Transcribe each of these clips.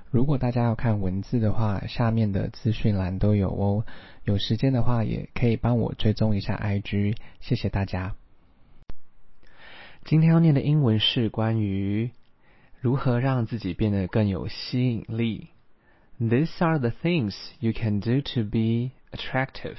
如果大家要看文字的話，下面的資訊欄都有哦。有時間的話，也可以幫我追蹤一下 IG， 謝謝大家。今天要念的英文是關於如何讓自己變得更有吸引力。These are the things you can do to be attractive.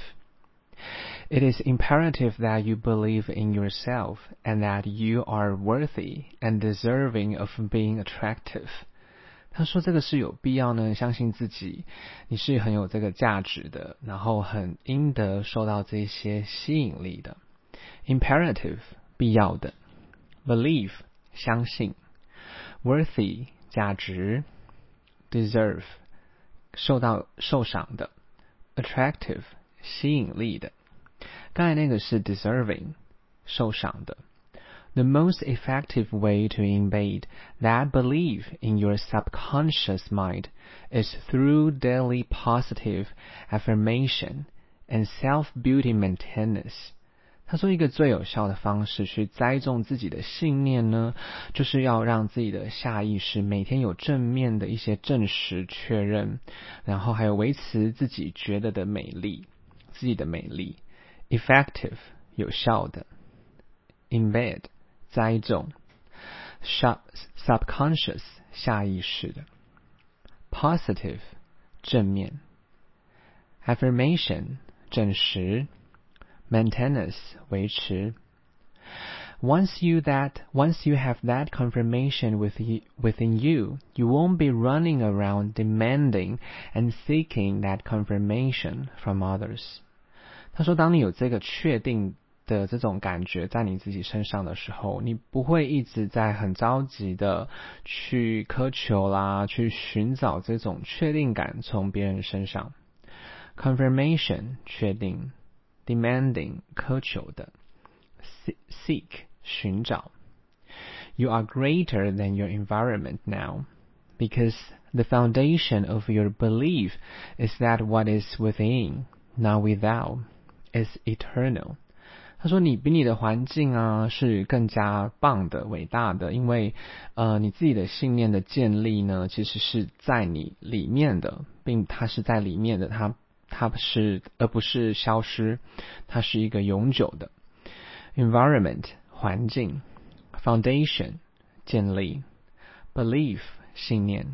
It is imperative that you believe in yourself and that you are worthy and deserving of being attractive. 他說這個是有必要呢，相信自己，你是很有這個價值的，然後很應得受到這些吸引力的。Imperative 必要的， Believe 相信， Worthy 價值， Deserve 受賞的， Attractive 吸引力的。剛才那個是 Deserving 受賞的。The most effective way to embed that belief in your subconscious mind is through daily positive affirmation and self-beauty maintenance. 他說一個最有效的方式去栽種自己的信念呢，就是要讓自己的下意識每天有正面的一些證實確認，然後還有維持自己覺得的美麗，自己的美麗。Effective 有效的， Embed栽種， subconscious 下意識的， positive 正面， affirmation 證實， maintenance 維持。Once you have that confirmation within you, you won't be running around demanding and seeking that confirmation from others. 他說當你有這個確定的這種感覺在你自己身上的時候，你不會一直在很着急的去苛求啦，去尋找這種確定感從別人身上。Confirmation 確定， demanding 苛求的， seek 尋找。You are greater than your environment now, because the foundation of your belief is that what is within, not without, is eternal.他說你比你的環境啊是更加棒的偉大的，因為你自己的信念的建立呢其實是在你裡面的，並它是在裡面的，它是而不是消失，它是一個永久的。Environment 環境， Foundation 建立， Belief 信念，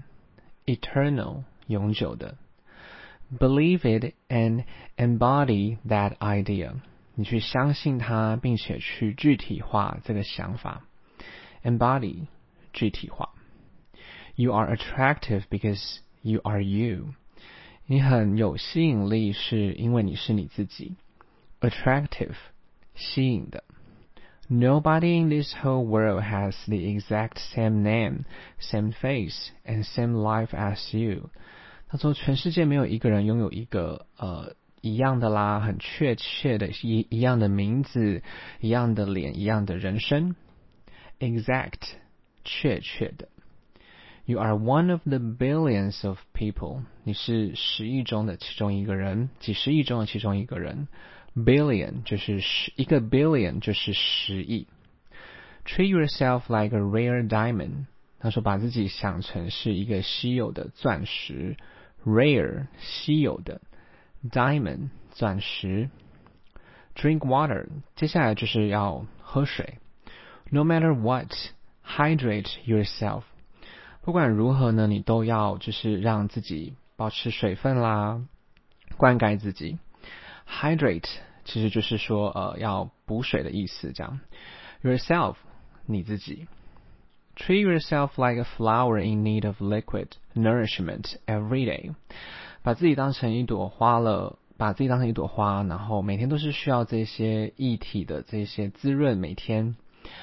Eternal 永久的。Believe it and embody that idea。你去相信它，並且去具體化這個想法。Embody 具體化。You are attractive because you are you. 你很有吸引力，是因為你是你自己。Attractive 吸引的。Nobody in this whole world has the exact same name, same face, and same life as you. 他說全世界沒有一個人擁有一個一樣的啦，很確切的一樣的名字，一樣的臉，一樣的人生。Exact 確切的。You are one of the billions of people. 你是10億中的其中一個人，幾十億中的其中一個人。Billion 就是一個 billion 就是10億。Treat yourself like a rare diamond. 他說把自己想成是一個稀有的鑽石。Rare 稀有的。Diamond 鑽石。Drink water 接下來就是要喝水。No matter what, hydrate yourself. 不管如何呢，你都要就是讓自己保持水分啦，灌溉自己。Hydrate 其實就是說要補水的意思這樣。Yourself 你自己。Treat yourself like a flower in need of liquid nourishment every day. 把自己當成一朵花，然後每天都是需要這些液體的這些滋潤，每天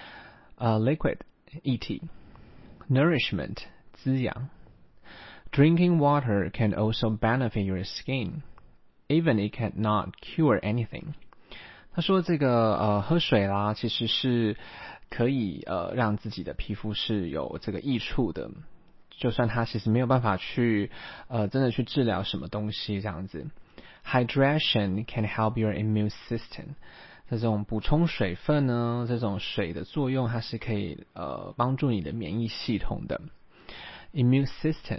liquid 液體。Nourishment 滋養。Drinking water can also benefit your skin, even it cannot cure anything. 他說这個喝水啦，其實是可以讓自己的皮膚是有這個益處的。就算它其實沒有辦法去真的去治療什麼東西這樣子。Hydration can help your immune system. 這種補充水分呢，這種水的作用它是可以幫助你的免疫系統的。Immune system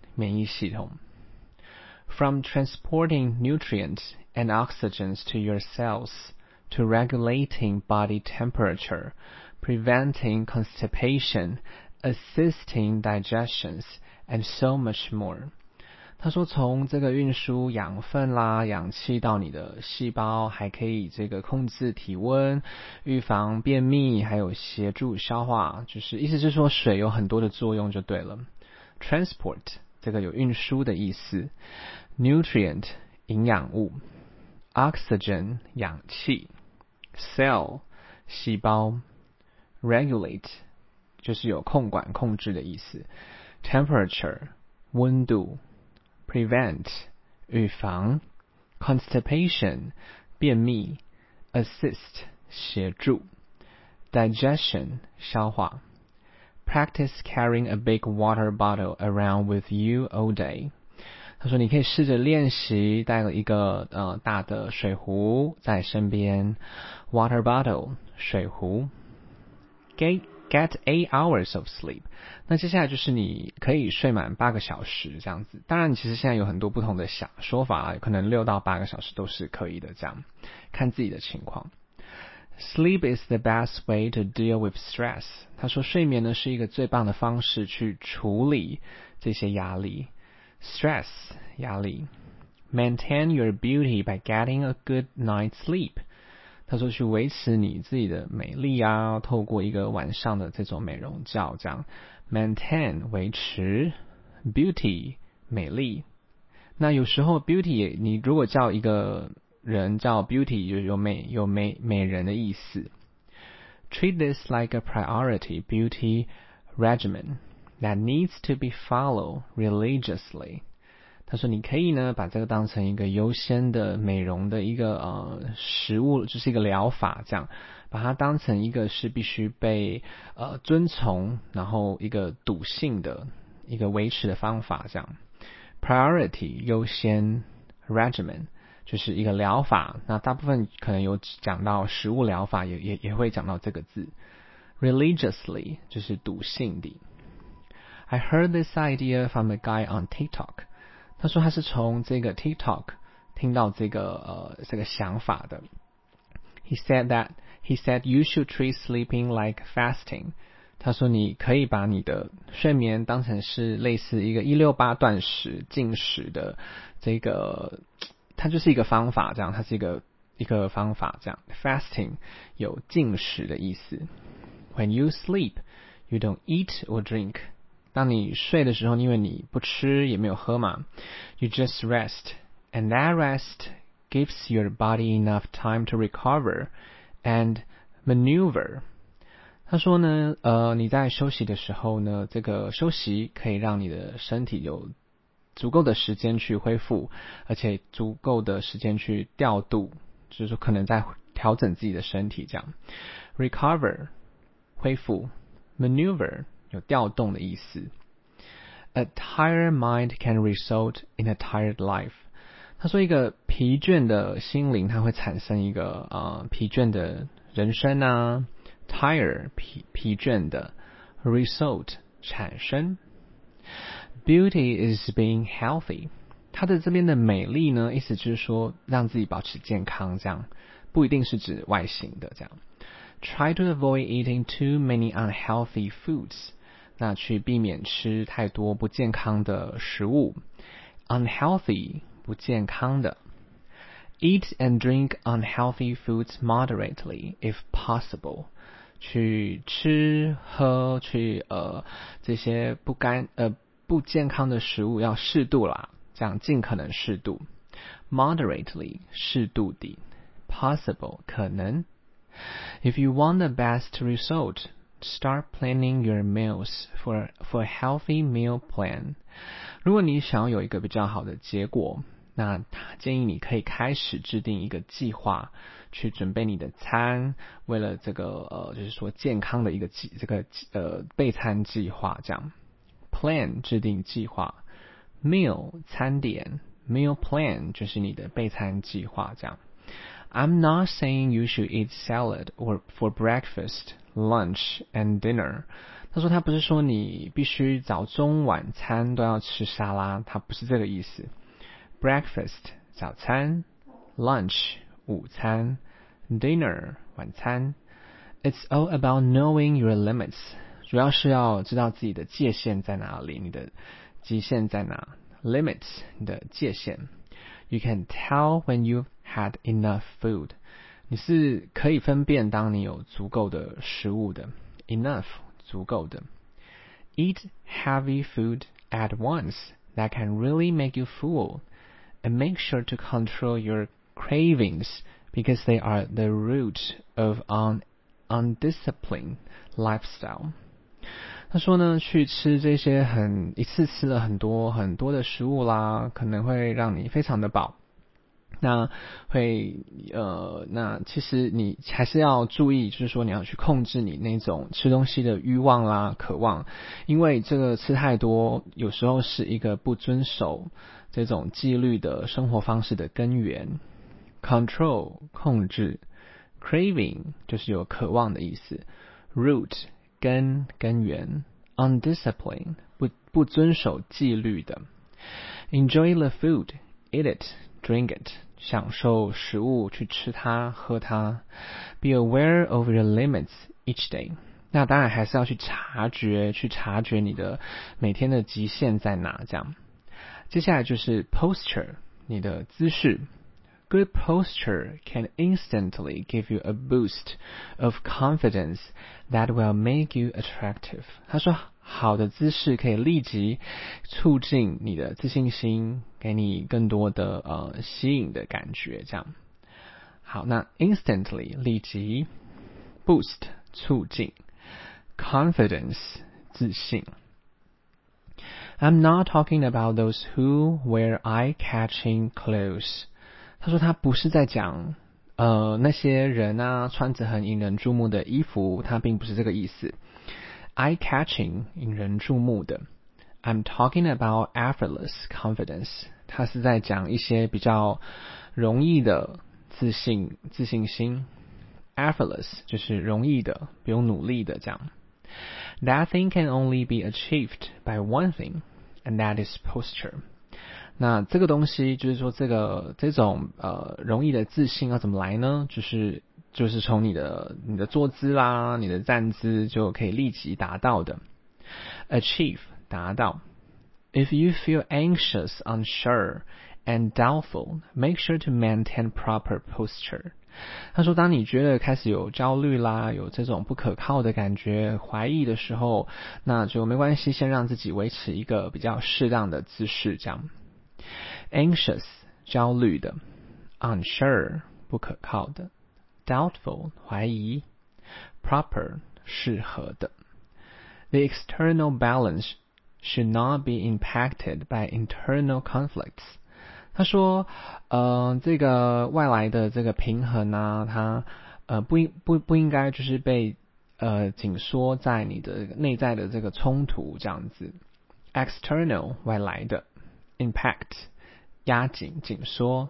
免疫系統。From transporting nutrients and oxygens to your cells to regulating body temperature, preventing constipation, assisting digestions, and so much more. 他說從這個運輸養分啦、氧氣到你的細胞，還可以這個控制體溫、預防便秘，還有協助消化，就是意思是說水有很多的作用就對了。Transport 這個有運輸的意思。Nutrient 營養物。Oxygen 氧氣。Cell 細胞。Regulate 就是有控管控制的意思。Temperature 溫度。Prevent 預防。Constipation 便秘。Assist 協助。Digestion 消化。Practice carrying a big water bottle around with you all day. 他說你可以試着練習帶了一個大的水壺在身邊。Water bottle 水壺。Get 8 hours of sleep. 那接下來就是你可以睡滿8個小時這樣子。當然其實現在有很多不同的說法，可能6到8個小時都是可以的，這樣看自己的情況。Sleep is the best way to deal with stress. 他說睡眠呢是一個最棒的方式去處理這些壓力。Stress 壓力。Maintain your beauty by getting a good night's sleep. 他說去維持你自己的美麗啊，透過一個晚上的這種美容覺這樣。Maintain 維持。Beauty 美麗。那有時候 beauty 你如果叫一個人叫 beauty 就有美人的意思。Treat this like a priority beauty regimen that needs to be followed religiously. 他說你可以呢把這個當成一個優先的美容的一個食物，就是一個療法這樣，把它當成一個是必須被遵從，然後一個篤信的一個維持的方法這樣。Priority 優先。Regimen就是一個療法，那大部分可能有講到食物療法，也會講到這個字。Religiously 就是篤信的。I heard this idea from a guy on TikTok. 他說他是從這個 TikTok 聽到這個想法的。He said you should treat sleeping like fasting. 他說你可以把你的睡眠當成是類似一個168斷食禁食的這個，它就是一個方法這樣，它是一個方法這樣。Fasting 有禁食的意思。When you sleep, you don't eat or drink. 當你睡的時候，因為你不吃也沒有喝嘛 ，you just rest, and that rest gives your body enough time to recover and maneuver. 他說呢，你在休息的時候呢，這個休息可以讓你的身體有足夠的時間去恢復，而且足夠的時間去調度，就是說可能在調整自己的身體這樣。Recover 恢復。Maneuver 有調動的意思。A tired mind can result in a tired life. 他說一個疲倦的心靈，它會產生一個疲倦的人生啊。Tired 疲倦的。Result 產生。Beauty is being healthy. 它的這邊的美麗呢，意思就是說讓自己保持健康，這樣不一定是指外形的這樣。Try to avoid eating too many unhealthy foods. 那去避免吃太多不健康的食物。Unhealthy 不健康的。Eat and drink unhealthy foods moderately if possible. 去吃喝這些不健康的食物要適度啦，這樣盡可能適度。Moderately 適度的。Possible 可能。If you want the best result, start planning your meals for a healthy meal plan. 如果你想要有一個比較好的結果，那建議你可以開始制定一個計劃，去準備你的餐，為了這個就是說健康的一個備餐計劃這樣。Plan 制定計劃。Meal 餐點。Meal plan 就是你的備餐計劃這樣。I'm not saying you should eat salad or for breakfast, lunch, and dinner. 他說他不是說你必須早中晚餐都要吃沙拉，他不是這個意思。Breakfast 早餐， lunch 午餐， dinner 晚餐。It's all about knowing your limits， 主要是要知道自己的界限在哪裡，你的極限在哪。Limits 你的界限。You can tell when you've had enough food， 你是可以分辨當你有足夠的食物的。Enough 足夠的。Eat heavy food at once that can really make you full, and make sure to control your cravings because they are the root of undisciplined lifestyle。他說呢，去吃这些一次吃了很多的食物啦，可能会讓你非常的飽。那其實你還是要注意，就是說你要去控制你那種吃東西的慾望啦、渴望，因為這個吃太多，有時候是一個不遵守這種紀律的生活方式的根源。Control 控制， craving 就是有渴望的意思， root 根源， undisciplined 不遵守紀律的。Enjoy the food, eat it, drink it， 享受食物，去吃它喝它。Be aware of your limits each day， 那當然還是要去察覺你的每天的極限在哪這樣。接下來就是 posture， 你的姿勢。Good posture can instantly give you a boost of confidence that will make you attractive。 他說好的姿勢可以立即促進你的自信心，給你更多的吸引的感覺這樣。好，那 instantly 立即， boost 促進， confidence 自信。I'm not talking about those who wear eye-catching clothes。他说他不是在講那些人啊穿着很引人注目的衣服，他並不是這個意思。Eye-catching 引人注目的。I'm talking about effortless confidence， 他是在講一些比較容易的自信心。Effortless 就是容易的，不用努力的這樣。That thing can only be achieved by one thing, and that is posture。那這個東西就是說這種容易的自信要怎麼來呢？就是從你的坐姿啦，你的站姿就可以立即達到的。Achieve 達到。If you feel anxious, unsure, and doubtful, make sure to maintain proper posture。他說當你覺得開始有焦慮啦，有這種不可靠的感覺，懷疑的時候，那就沒關係，先讓自己維持一個比較適當的姿勢這樣。Anxious 焦慮的， unsure 不可靠的， doubtful 懷疑， proper 適合的。The external balance should not be impacted by internal conflicts。 他說這個外來的這個平衡啊，它不應該就是被緊縮在你的內在的這個衝突這樣子。External 外來的， impact 壓緊緊縮，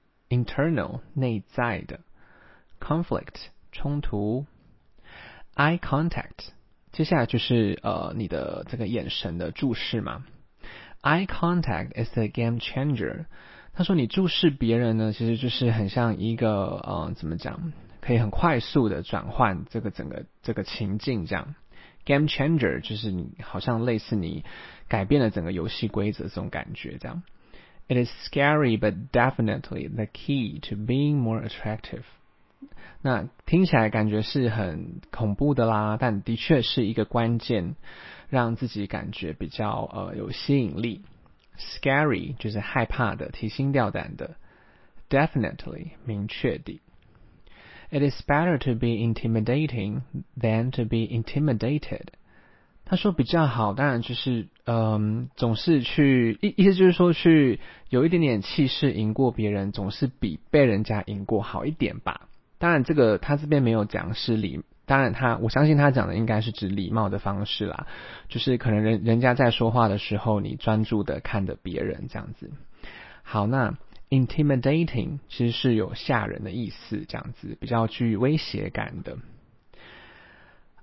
internal 內在的， conflict 衝突。Eye contact 接下來就是你的這個眼神的注視嘛。Eye contact is a game changer。 他說你注視別人呢，其實就是很像一個怎麼講，可以很快速的轉換這個整個這個情境這樣。Game changer 就是你好像類似你改變了整個遊戲規則這種感覺這樣。It is scary but definitely the key to being more attractive。 那聽起來感覺是很恐怖的啦，但的確是一個關鍵，讓自己感覺比較有吸引力。Scary 就是害怕的，提心吊膽的。Definitely 明確地。It is better to be intimidating than to be intimidated。 他說比較好，當然就是總是意思就是說去有一點點氣勢贏過別人，總是比被人家贏過好一點吧。當然這個他這邊沒有講是當然我相信他講的應該是指禮貌的方式啦，就是可能人家在說話的時候，你專注的看着別人這樣子。好，那 intimidating 其實是有嚇人的意思，這樣子比較具威脅感的。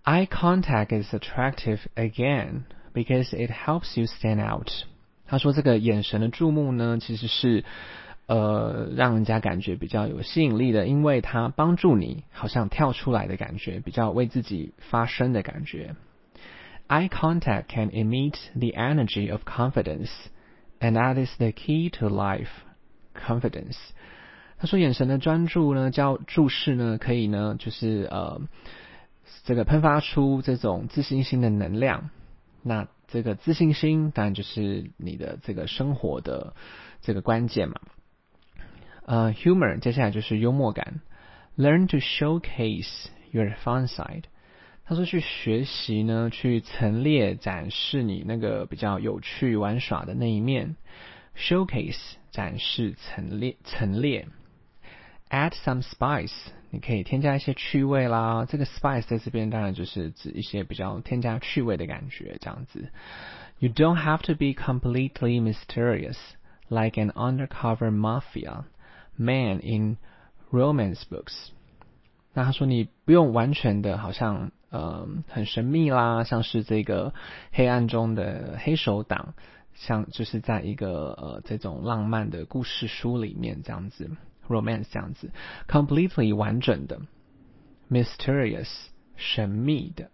Eye contact is attractive again because it helps you stand out. 他說這個眼神的注目呢，其實是讓人家感覺比較有吸引力的，因為它幫助你好像跳出來的感覺，比較為自己發聲的感覺。Eye contact can emit the energy of confidence, and that is the key to life. Confidence. 他說眼神的專注呢，注視呢，可以呢，就是這個噴發出這種自信心的能量。那這個自信心當然就是你的這個生活的這個關鍵嘛。Humor 接下來就是幽默感。Learn to showcase your fun side. 他說去學習呢，去陳列展示你那個比較有趣玩耍的那一面。Showcase 展示陳列。Add some spice. 你可以添加一些趣味啦，這個 spice 在這邊當然就是指一些比較添加趣味的感覺，這樣子。You don't have to be completely mysterious, like an undercover mafia man in romance books. 那他說你不用完全的好像很神秘啦，像是這個黑暗中的黑手黨，像就是在一個這種浪漫的故事書裡面這樣子。romance 這樣子 completely 完整的 mysterious 神秘的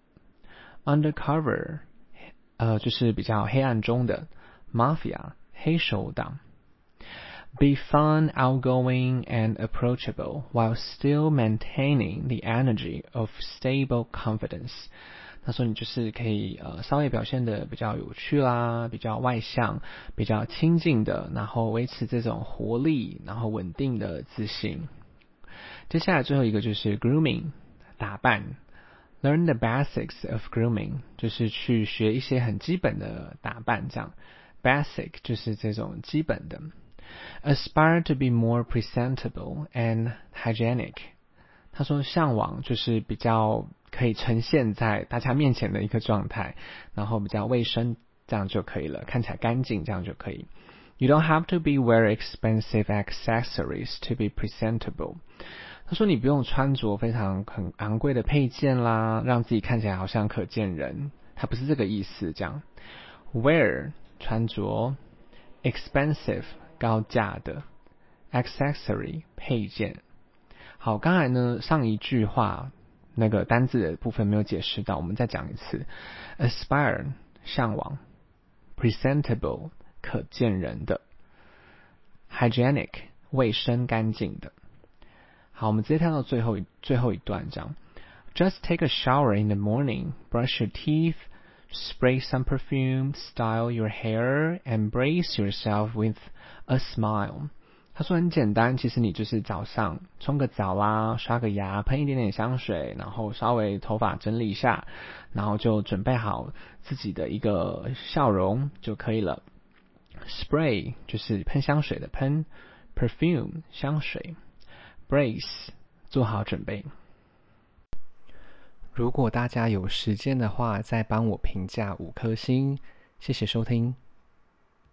undercover 就是比較黑暗中的 mafia 黑手黨 be fun, outgoing and approachable while still maintaining the energy of stable confidence. 他說你就是可以稍微表現得比較有趣啦，比較外向，比較親近的，然後維持這種活力，然後穩定的自信。接下來最後一個就是 grooming 打扮。Learn the basics of grooming 就是去學一些很基本的打扮這樣。Basic 就是這種基本的。Aspire to be more presentable and hygienic. 他說向往就是比較可以呈現在大家面前的一個狀態，然後比較衛生，這樣就可以了，看起來乾淨，這樣就可以。You don't have to be wear expensive accessories to be presentable. 他說你不用穿着很昂貴的配件啦，讓自己看起來好像可見人，他不是這個意思，這樣。Wear 穿着 expensive 高價的 accessory 配件。好，剛才呢上一句話那個單字的部分沒有解釋到，我們再講一次。Aspire 向往 presentable 可見人的 hygienic 衛生乾淨的。好，我們直接跳到最後一段這樣。Just take a shower in the morning, brush your teeth, spray some perfume, style your hair, and brace yourself with a smile. 他說很簡單，其實你就是早上沖個澡啦，刷個牙，噴一點點香水，然後稍微頭髮整理一下，然後就準備好自己的一個笑容就可以了。Spray 就是噴香水的噴 ，perfume 香水 ，brace 做好準備。如果大家有時間的話，再幫我評價5顆星，謝謝收聽。